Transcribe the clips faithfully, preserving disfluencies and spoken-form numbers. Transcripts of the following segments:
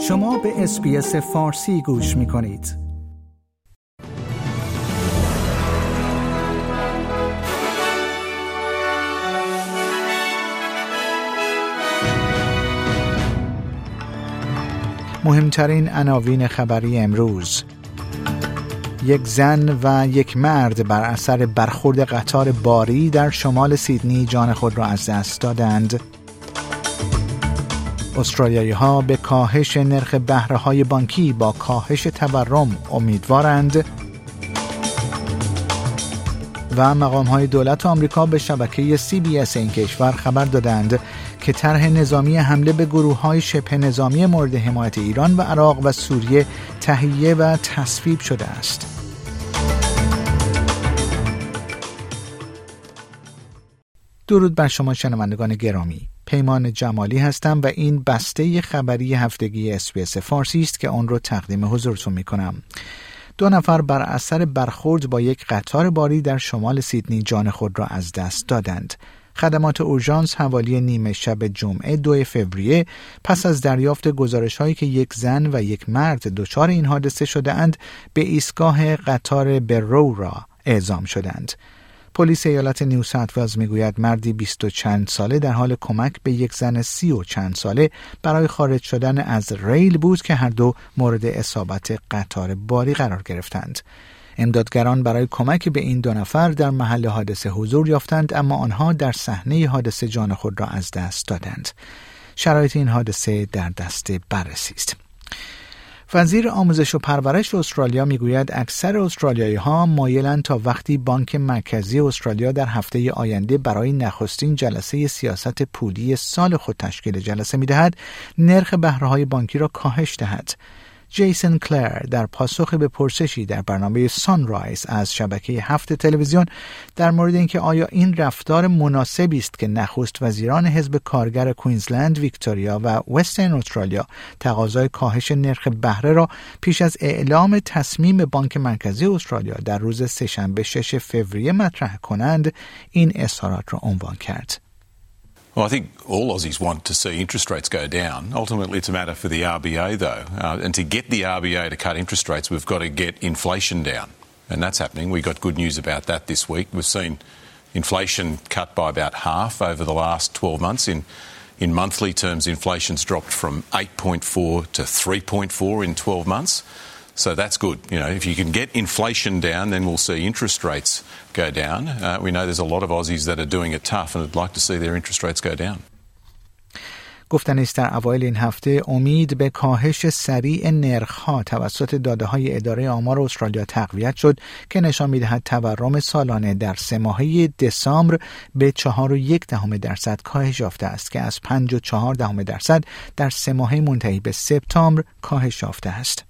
شما به اس بی اس فارسی گوش می کنید. مهمترین عناوین خبری امروز: یک زن و یک مرد بر اثر برخورد قطار باری در شمال سیدنی جان خود را از دست دادند. استرالیایی‌ها به کاهش نرخ بهره‌های بانکی با کاهش تورم امیدوارند. و مقام‌های دولت آمریکا به شبکه سی بی اس این کشور خبر دادند که طرح نظامی حمله به گروه‌های شبه نظامی مورد حمایت ایران و عراق و سوریه تهیه و تصویب شده است. درود بر شما شنوندگان گرامی. پیمان جمالی هستم و این بسته خبری هفتگی اس بی اس فارسی است که آن را تقدیم حضورتون می‌کنم. دو نفر بر اثر برخورد با یک قطار باری در شمال سیدنی جان خود را از دست دادند. خدمات اورژانس حوالی نیمه شب جمعه دو فوریه پس از دریافت گزارش‌هایی که یک زن و یک مرد دچار این حادثه شده‌اند به ایستگاه قطار برو را اعزام شدند. پلیس ایالت نیو ساوت ولز میگوید مردی بیست و چند ساله در حال کمک به یک زن سی و چند ساله برای خارج شدن از ریل بود که هر دو مورد اصابت قطار باری قرار گرفتند. امدادگران برای کمک به این دو نفر در محل حادثه حضور یافتند، اما آنها در صحنه حادثه جان خود را از دست دادند. شرایط این حادثه در دست بررسی است. وزیر آموزش و پرورش استرالیا میگوید اکثر استرالیایی‌ها مایلند تا وقتی بانک مرکزی استرالیا در هفته آینده برای نخستین جلسه سیاست پولی سال خود تشکیل جلسه می‌دهد، نرخ بهره‌های بانکی را کاهش دهد. جیسن کلر در پاسخ به پرسشی در برنامه سانرایز از شبکه هفت تلویزیون در مورد اینکه آیا این رفتار مناسبی است که نخست وزیران حزب کارگر کوینزلند، ویکتوریا و وسترن استرالیا تقاضای کاهش نرخ بهره را پیش از اعلام تصمیم بانک مرکزی استرالیا در روز سه‌شنبه شش فوریه مطرح کنند، این اظهارات را عنوان کرد. Well, I think all Aussies want to see interest rates go down. Ultimately, it's a matter for the R B A, though. Uh, and to get the R B A to cut interest rates, we've got to get inflation down. And that's happening. We got good news about that this week. We've seen inflation cut by about half over the last twelve months. In, in monthly terms, inflation's dropped from eight point four to three point four in twelve months. So that's good. You know, if you can get inflation down, then we'll see interest rates go down. Uh, we know there's a lot of Aussies that are doing it tough and would like to see their interest rates go down. گفتن است در اوایل این هفته امید به کاهش سریع نرخ‌ها توسط داده‌های اداره آمار استرالیا تقویت شد که نشان می‌دهد تورم سالانه در سه ماهه دسامبر به چهار و یک دهم درصد کاهش یافته است که از پنج و چهار دهم درصد در سه ماهه منتهی به سپتامبر کاهش یافته است.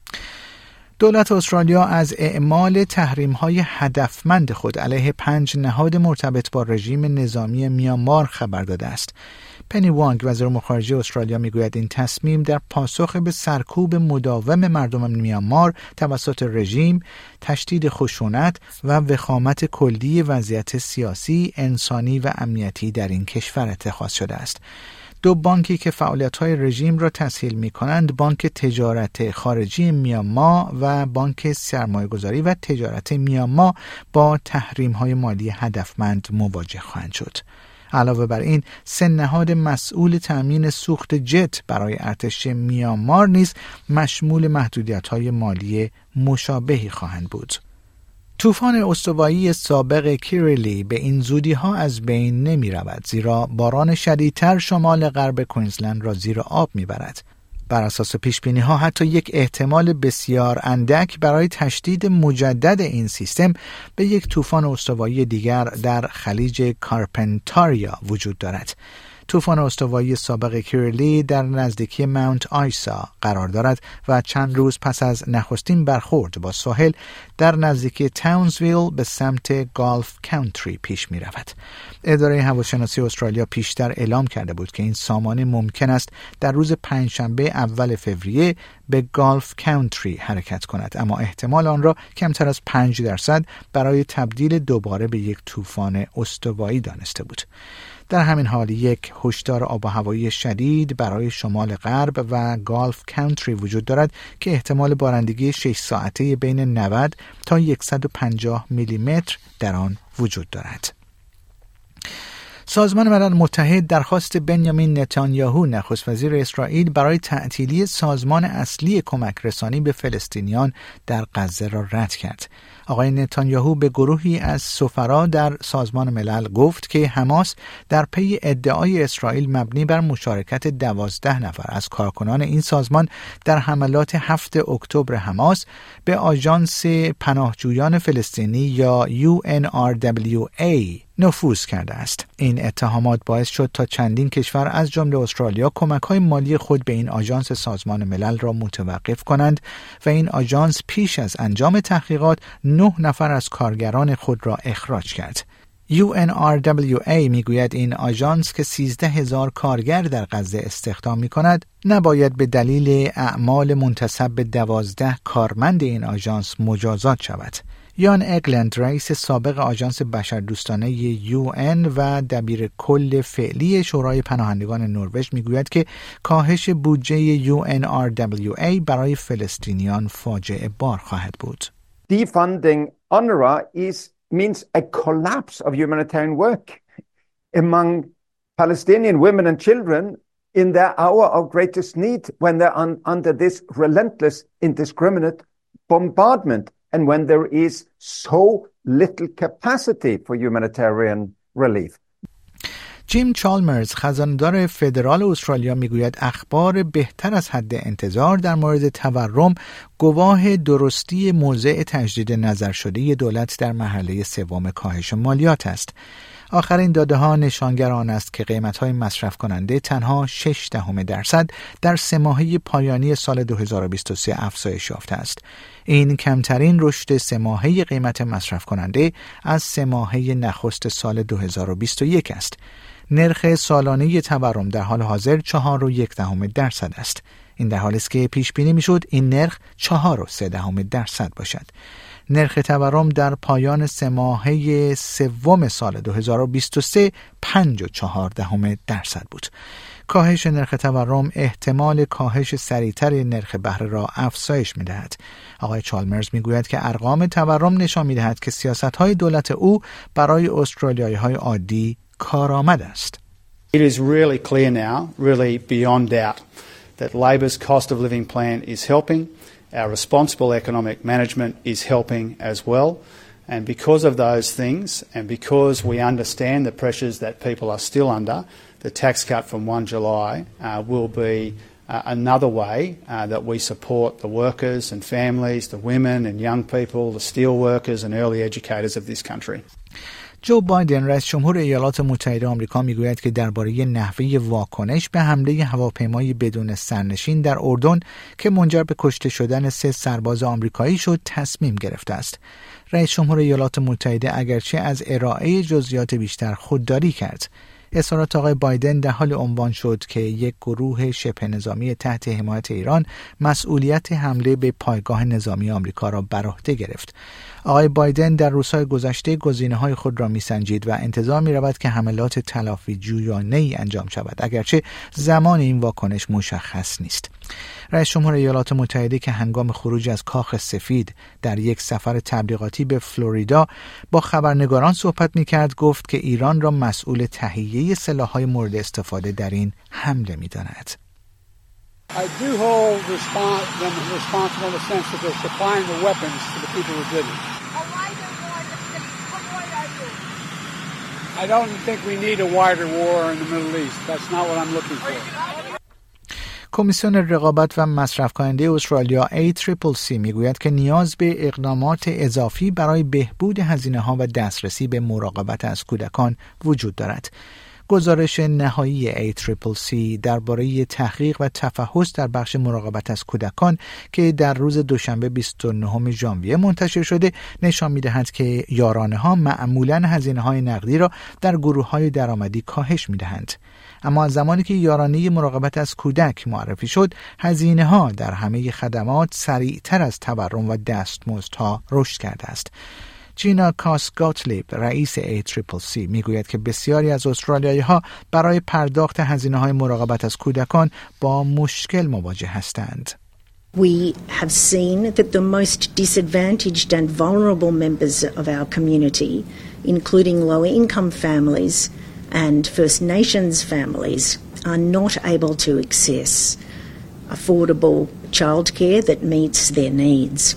دولت استرالیا از اعمال تحریم‌های هدفمند خود علیه پنج نهاد مرتبط با رژیم نظامی میانمار خبر داده است. پنی وانگ وزیر امور خارجه استرالیا میگوید این تصمیم در پاسخ به سرکوب مداوم مردم میانمار توسط رژیم، تشدید خشونت و وخامت کلی وضعیت سیاسی، انسانی و امنیتی در این کشور اتخاذ شده است. دو بانکی که فعالیت‌های رژیم را تسهیل می‌کنند، بانک تجارت خارجی میانمار و بانک سرمایه‌گذاری و تجارت میانمار با تحریم‌های مالی هدفمند مواجه خواهند شد. علاوه بر این، سه نهاد مسئول تأمین سوخت جت برای ارتش میانمار نیز مشمول محدودیت‌های مالی مشابهی خواهند بود. طوفان استوایی سابق کیریلی به این زودی‌ها از بین نمی رود، زیرا باران شدیدتر شمال غرب کوینزلند را زیر آب می برد. بر اساس پیشبینی‌ها حتی یک احتمال بسیار اندک برای تشدید مجدد این سیستم به یک طوفان استوایی دیگر در خلیج کارپنتاریا وجود دارد. طوفان استوایی سابق کیریلی در نزدیکی ماونت آیسا قرار دارد و چند روز پس از نخستین برخورد با ساحل در نزدیکی تاونزویل به سمت گالف کانتری پیش می رود. اداره هواشناسی استرالیا پیشتر اعلام کرده بود که این سامانه ممکن است در روز پنجشنبه اول فوریه به گالف کانتری حرکت کند، اما احتمال آن را کمتر از پنج درصد برای تبدیل دوباره به یک طوفان استوایی دانسته بود. در همین حال یک هشدار آب و هوایی شدید برای شمال غرب و گالف کانتری وجود دارد که احتمال بارندگی شش ساعته بین نود تا صد و پنجاه میلیمتر در آن وجود دارد. سازمان ملل متحد درخواست بنیامین نتانیاهو نخست وزیر اسرائیل برای تعطیلی سازمان اصلی کمک رسانی به فلسطینیان در غزه را رد کرد. آقای نتانیاهو به گروهی از سفرا در سازمان ملل گفت که حماس در پی ادعای اسرائیل مبنی بر مشارکت دوازده نفر از کارکنان این سازمان در حملات هفتم اکتبر حماس به آژانس پناهجویان فلسطینی یا یو ان آر دبلیو ای نفوذ کرده است. این اتهامات باعث شد تا چندین کشور از جمله استرالیا کمک‌های مالی خود به این آژانس سازمان ملل را متوقف کنند و این آژانس پیش از انجام تحقیقات نه نفر از کارگران خود را اخراج کرد. یو ان آر دبلیو ای میگوید این آژانس که سیزده هزار کارگر در غزه استخدام می‌کند نباید به دلیل اعمال منتسب به دوازده کارمند این آژانس مجازات شود. یان اگلند رئیس سابق آژانس بشردوستانه یو ان و دبیر کل فعلی شورای پناهندگان نروژ میگوید که کاهش بودجه یو ان آر دبلیو ای برای فلسطینیان فاجعه بار خواهد بود. Defunding UNRWA is means a collapse of humanitarian work among Palestinian women and children in their hour of greatest need when they're un- under this relentless, indiscriminate bombardment and when there is so little capacity for humanitarian relief. جیم چالمرز خزاندار فدرال استرالیا میگوید اخبار بهتر از حد انتظار در مورد تورم گواه درستی موضع تجدید نظر شده دولت در مرحله سوم کاهش مالیات است. آخرین داده ها نشانگر آن است که قیمت های مصرف کننده تنها شش دهم درصد در سه ماهه پایانی سال دو هزار و بیست و سه افزایش یافته است. این کمترین رشد سه ماهه قیمت مصرف کننده از سه ماهه نخست سال دو هزار و بیست و یک است. نرخ سالانه تورم در حال حاضر چهار و یک دهم درصد است. این در حالی است که پیش بینی میشد این نرخ چهار و سه دهم درصد باشد. نرخ تورم در پایان سه ماهه سوم سال دو هزار و بیست و سه پنج و چهار دهم درصد بود. کاهش نرخ تورم احتمال کاهش سریعتر نرخ بهره را افزایش می‌دهد. آقای چالمرز میگوید که ارقام تورم نشان می‌دهد که سیاست‌های دولت او برای استرالیایی‌های عادی کارآمد است. It is really clear now, really beyond doubt, that Labor's cost of living plan is helping. Our responsible economic management is helping as well. And because of those things, and because we understand the pressures that people are still under, the tax cut from first of July uh, will be uh, another way uh, that we support the workers and families, the women and young people, the steel workers and early educators of this country. جو بایدن رئیس جمهور ایالات متحده آمریکا میگوید که درباره نحوه واکنش به حمله هواپیمای بدون سرنشین در اردن که منجر به کشته شدن سه سرباز آمریکایی شد تصمیم گرفته است. رئیس جمهور ایالات متحده اگرچه از ارائه جزئیات بیشتر خودداری کرد. اظهارات آقای بایدن در حال عنوان شد که یک گروه شبه نظامی تحت حمایت ایران مسئولیت حمله به پایگاه نظامی آمریکا را بر عهده گرفت. آقای بایدن در روزهای گذشته گزینه‌های خود را می‌سنجید و انتظار می‌رود که حملات تلافی جویانه‌ای انجام شود، اگرچه زمان این واکنش مشخص نیست. رئیس جمهور ایالات متحده که هنگام خروج از کاخ سفید در یک سفر تبلیغاتی به فلوریدا با خبرنگاران صحبت می‌کرد گفت که ایران را مسئول تهیه سلاح‌های مورد استفاده در این حمله می‌داند. I do hold respons- them responsible in the sense that they're supplying the weapons to the people who did it. I don't think we need a wider war in the Middle East. That's not what I'm looking for. کمیسیون رقابت و مصرف کننده استرالیا ای تریپل سی میگوید که نیاز به اقدامات اضافی برای بهبود هزینه‌ها و دسترسی به مراقبت از کودکان وجود دارد. گزارش نهایی ای تریپل سی درباره تحقیق و تفحص در بخش مراقبت از کودکان که در روز دوشنبه بیست و نهم ژانویه منتشر شده نشان می‌دهد که یارانه‌ها معمولاً هزینه‌های نقدی را در گروه‌های درآمدی کاهش می‌دهند. اما از زمانی که یارانه مراقبت از کودک معرفی شد، هزینه‌ها در همه خدمات سریعتر از تورم و دستمزدها رشد کرده است. جینا کاس گاتلیب رئیس ای تریپل سی میگوید که بسیاری از استرالیایی‌ها برای پرداخت هزینه‌های مراقبت از کودکان با مشکل مواجه هستند. We have seen that the most disadvantaged and vulnerable members of our community, including lower-income families and First Nations families, are not able to access affordable childcare that meets their needs.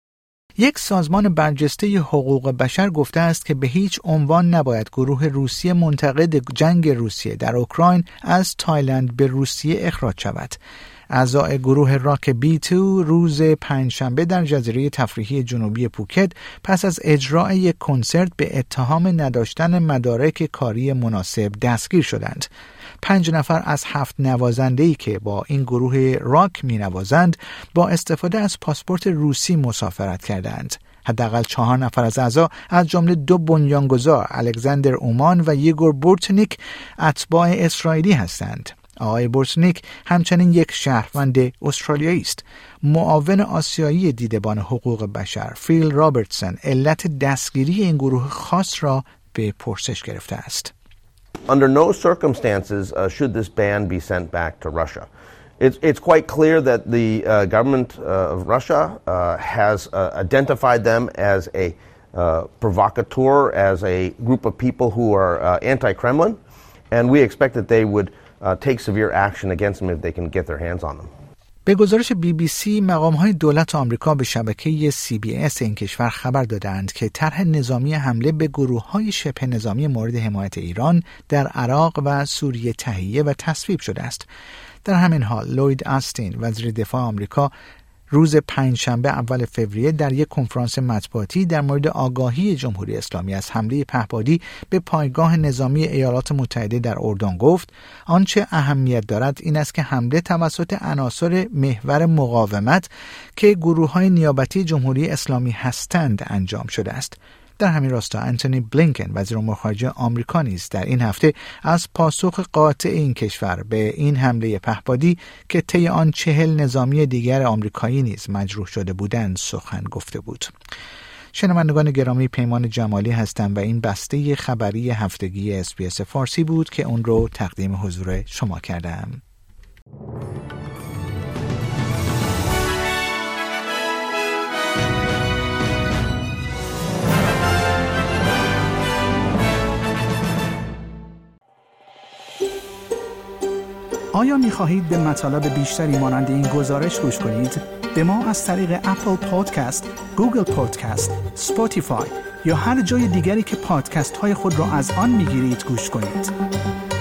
یک سازمان برجسته حقوق بشر گفته است که به هیچ عنوان نباید گروه روسیه منتقد جنگ روسیه در اوکراین از تایلند به روسیه اخراج شود. اعضای گروه راک بی تو روز پنجشنبه در جزیره تفریحی جنوبی پوکت پس از اجرای یک کنسرت به اتهام نداشتن مدارک کاری مناسب دستگیر شدند. پنج نفر از هفت نوازنده‌ای که با این گروه راک می نوازند با استفاده از پاسپورت روسی مسافرت کردند. حداقل چهار نفر از اعضا از جمله دو بنیانگذار الکساندر اومان و یگور بورتنیک اتباع اسرائیلی هستند. آقای بورتنیک همچنین یک شهروند استرالیایی است. معاون آسیایی دیدبان حقوق بشر فیل رابرتسون علت دستگیری این گروه خاص را به پرسش گرفته است. Under no circumstances uh, should this ban be sent back to Russia. It's, it's quite clear that the uh, government uh, of Russia uh, has uh, identified them as a uh, provocateur, as a group of people who are uh, anti-Kremlin, and we expect that they would uh, take severe action against them if they can get their hands on them. به گزارش بی بی سی مقام‌های دولت آمریکا به شبکه سی بی اس این کشور خبر دادند که طرح نظامی حمله به گروه‌های شبه نظامی مورد حمایت ایران در عراق و سوریه تهیه و تصویب شده است. در همین حال لوید آستین وزیر دفاع آمریکا روز پنجشنبه اول فوریه در یک کنفرانس مطبوعاتی در مورد آگاهی جمهوری اسلامی از حمله پهپادی به پایگاه نظامی ایالات متحده در اردن گفت آنچه اهمیت دارد این است که حمله توسط عناصر محور مقاومت که گروه‌های نیابتی جمهوری اسلامی هستند انجام شده است. در همین راستا انتونی بلینکن وزیر امور خارجه آمریکا نیز در این هفته از پاسخ قاطع این کشور به این حمله پهپادی که طی آن چهل نظامی دیگر آمریکایی نیز مجروح شده بودند سخن گفته بود. شنوندگان گرامی، پیمان جمالی هستم و این بسته خبری هفتگی اس بی اس فارسی بود که اون رو تقدیم حضور شما کردم. آیا می خواهید به مطالب بیشتری مانند این گزارش گوش کنید؟ به ما از طریق اپل پادکست، گوگل پادکست، اسپاتیفای یا هر جای دیگری که پادکست های خود را از آن می گیرید گوش کنید.